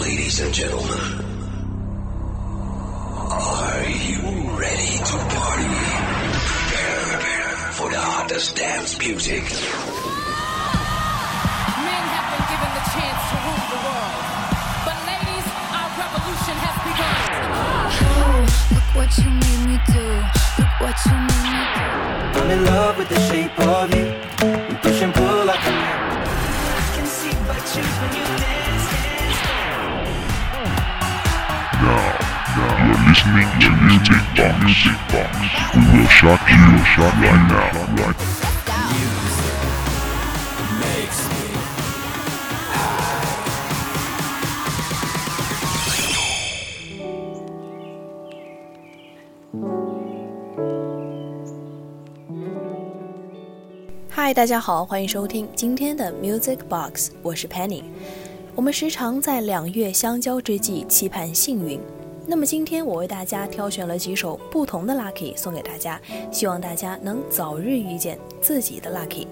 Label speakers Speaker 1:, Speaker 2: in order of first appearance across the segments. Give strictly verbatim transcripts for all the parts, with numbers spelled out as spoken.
Speaker 1: Ladies and gentlemen, are you ready to party? Prepare for the hottest dance music.
Speaker 2: Men have been given the chance to rule the world. But ladies, our revolution has begun.
Speaker 3: Oh, look what you made me do. Look what you made me do.
Speaker 4: I'm in love with the shape of you. We push and pull like a man. I can see but choose when you dance, dance, dance.
Speaker 5: Now, now, you're listening to Music Box. Music Box. We will shock you, shock right now, right?
Speaker 4: Music makes me high.
Speaker 6: 嗨，大家好，欢迎收听今天的 Music Box， 我是 Penny。我们时常在两月相交之际期盼幸运，那么今天我为大家挑选了几首不同的 Lucky 送给大家，希望大家能早日遇见自己的 Lucky。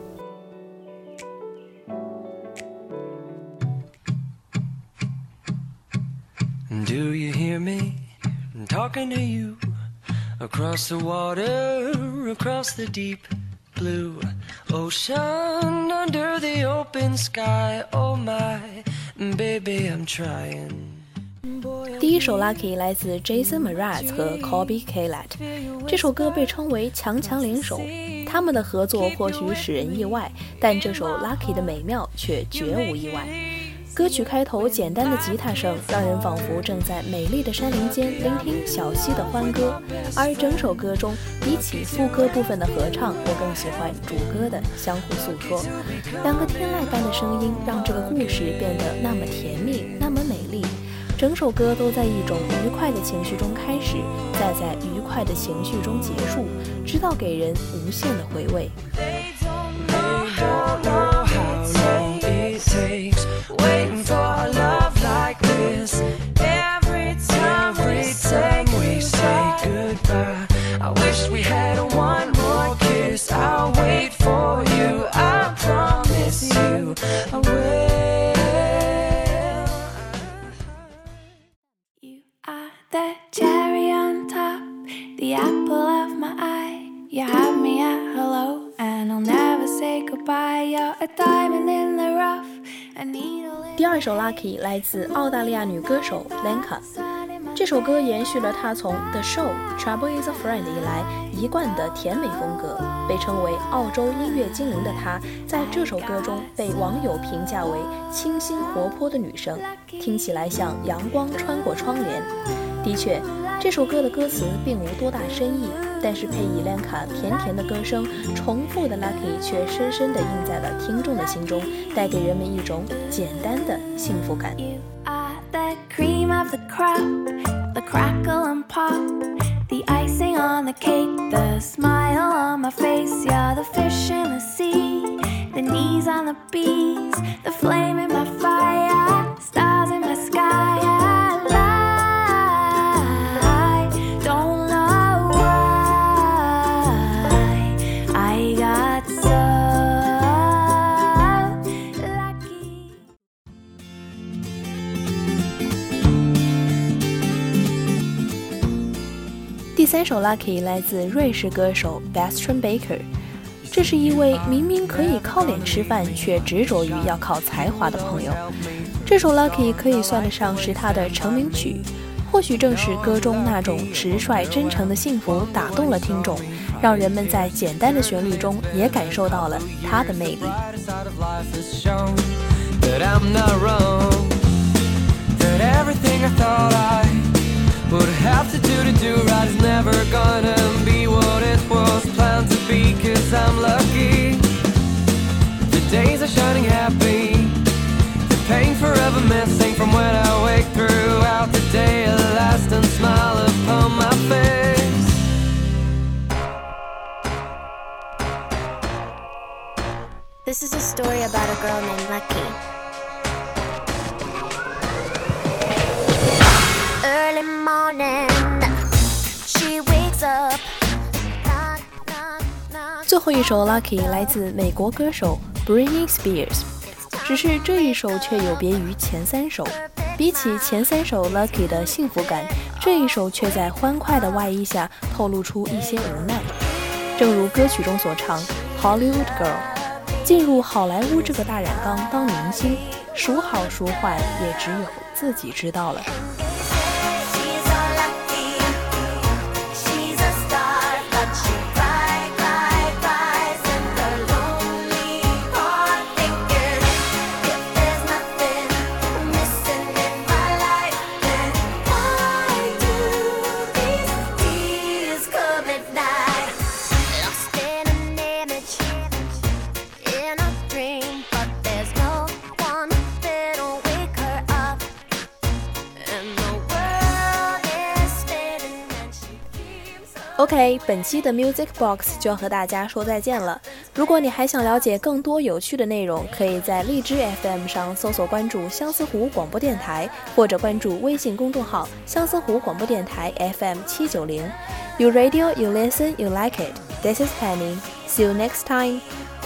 Speaker 4: Do you hear me talking to you across the water, across the deep blue ocean, under the open sky? Oh my baby, I'm trying.
Speaker 6: 第一首 Lucky 来自 Jason Mraz 和 Colby Caillat， 这首歌被称为强强联手，他们的合作或许使人意外，但这首 Lucky 的美妙却绝无意外。歌曲开头简单的吉他声让人仿佛正在美丽的山林间聆听小溪的欢歌，而整首歌中比起副歌部分的合唱，我更喜欢主歌的相互诉说。两个天籁般的声音让这个故事变得那么甜蜜，那么美丽。整首歌都在一种愉快的情绪中开始，再在愉快的情绪中结束，直到给人无限的回味。
Speaker 4: Waiting for a love like this. Every time, every time we say goodbye, I wish we had one more kiss. I'll wait for you, I promise you I will.
Speaker 3: You are the cherry on top, the apple of my eye. You have me at hello, and I'll never say goodbye. You're a diamond in the rough.
Speaker 6: 第二首 Lucky 来自澳大利亚女歌手 Lenka， 这首歌延续了她从 The Show、Trouble Is a Friend 以来一贯的甜美风格，被称为澳洲音乐精灵的她，在这首歌中被网友评价为清新活泼的女生，听起来像阳光穿过窗帘。的确，这首歌的歌词并无多大深意，但是配以 Lenka 甜甜的歌声，重复的 Lucky 却深深地印在了听众的心中，带给人们一种简单的幸福感。
Speaker 3: You are the cream of the crop, the crackle and pop, the icing on the cake, the smile on my face. You're the fish in the sea, the knees on the bees, the flame in my fire, stars in my sky. I
Speaker 6: 第三首 Lucky 来自瑞士歌手 Bastian Baker， 这是一位明明可以靠脸吃饭，却执着于要靠才华的朋友。这首 Lucky 可以算得上是他的成名曲，或许正是歌中那种直率真诚的幸福打动了听众，让人们在简单的旋律中也感受到了他的魅力。
Speaker 4: Would have to do to do right is never gonna be what it was planned to be. Cause I'm lucky, the days are shining happy, the pain forever missing from when I wake throughout the day. A lasting smile upon my face.
Speaker 7: This is a story about a girl named Lucky. Early morning, she wakes up.
Speaker 6: 最后一首 Lucky 来自美国歌手 Britney Spears， 只是这一首却有别于前三首。 比起前三首 Lucky 的幸福感，这一首却在欢快的外衣下透露出一些无奈。正如歌曲中所唱 Hollywood Girl， 进入好莱坞这个大染缸当明星，孰好孰坏也只有自己知道了。OK， 本期的 Music Box 就要和大家说再见了。如果你还想了解更多有趣的内容，可以在荔枝 F M 上搜索关注相思湖广播电台，或者关注微信公众号相思湖广播电台 F M 七九零。You radio, you listen, you like it. This is Penny. See you next time.